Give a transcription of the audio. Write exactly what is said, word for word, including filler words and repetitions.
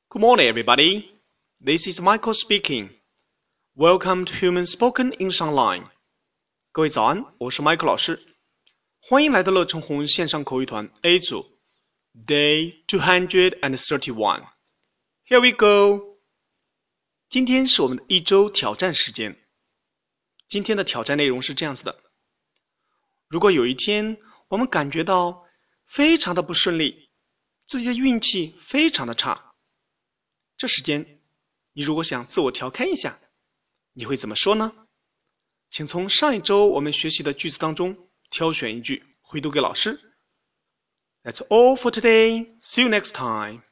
Good morning, everybody. This is Michael speaking. Welcome to Human Spoken English Online. 各位早安，我是 Michael 老师，欢迎来到乐成红线上口语团 A 组 Day two hundred thirty-one. Here we go. 今天是我们的一周挑战时间。今天的挑战内容是这样子的：如果有一天我们感觉到非常的不顺利，自己的运气非常的差，这时间你如果想自我调侃一下，你会怎么说呢？请从上一周我们学习的句子当中挑选一句回读给老师。That's all for today. See you next time.